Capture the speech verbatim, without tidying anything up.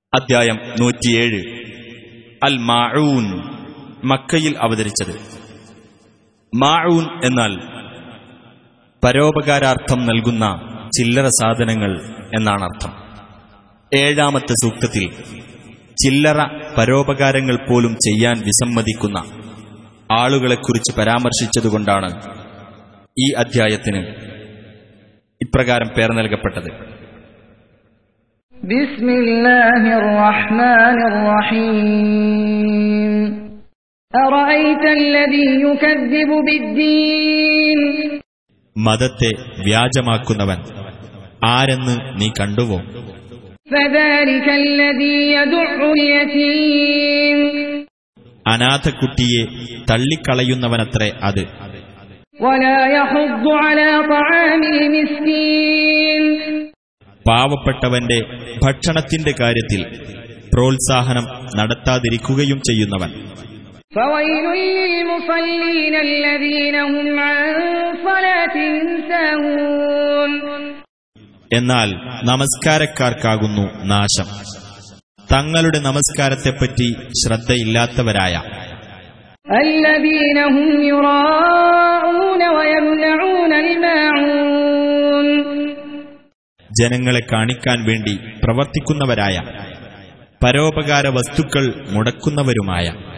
അദ്ധ്യായം നൂറ്റിയേഴ്. അൽ മാഊൻ, മക്കയിൽ അവതരിച്ചത്. മാഊൻ എന്നാൽ പരോപകാരാർത്ഥം നൽകുന്ന ചില്ലറ സാധനങ്ങൾ എന്നാണ് അർത്ഥം. ഏഴാമത്തെ സൂക്തത്തിൽ ചില്ലറ പരോപകാരങ്ങൾ പോലും ചെയ്യാൻ വിസമ്മതിക്കുന്ന ആളുകളെക്കുറിച്ച് പരാമർശിച്ചതുകൊണ്ടാണ് ഈ അദ്ധ്യായത്തിന് ഇപ്രകാരം പേർ നൽകപ്പെട്ടത്. ബിസ്മില്ലാഹിർ റഹ്മാനിർ റഹീം. അറഅയ്തല്ലദീ യുകദ്ദിബു ബിദ്ദീൻ. മതത്തെ വ്യാജമാക്കുന്നവൻ ആരെന്ന് നീ കണ്ടുവോ? ഫദാലികല്ലദീ യദുഉൽ യതീം. അനാഥക്കുട്ടിയെ തള്ളിക്കളയുന്നവനത്രേ അത്. വലാ യഹുദ്ദു അലാ തആമിൽ മിസ്കീൻ. പാവപ്പെട്ടവന്റെ ഭക്ഷണത്തിന്റെ കാര്യത്തിൽ പ്രോത്സാഹനം നടത്താതിരിക്കുകയും ചെയ്യുന്നവൻ. ഫവൈലുൽ ലിൽമുസല്ലീന അല്ലദീന ഹും അൻ സ്വലാത്തിഹിം സാഹൂൻ. എന്നാൽ നമസ്കാരക്കാർക്കാകുന്നു നാശം, തങ്ങളുടെ നമസ്കാരത്തെപ്പറ്റി ശ്രദ്ധയില്ലാത്തവരായ. അല്ലദീന ഹും യുറാഊന വയംനഊനൽ മാഊൻ. ജനങ്ങളെ കാണിക്കാൻ വേണ്ടി പ്രവർത്തിക്കുന്നവരായ, പരോപകാര വസ്തുക്കൾ മുടക്കുന്നവരുമായ.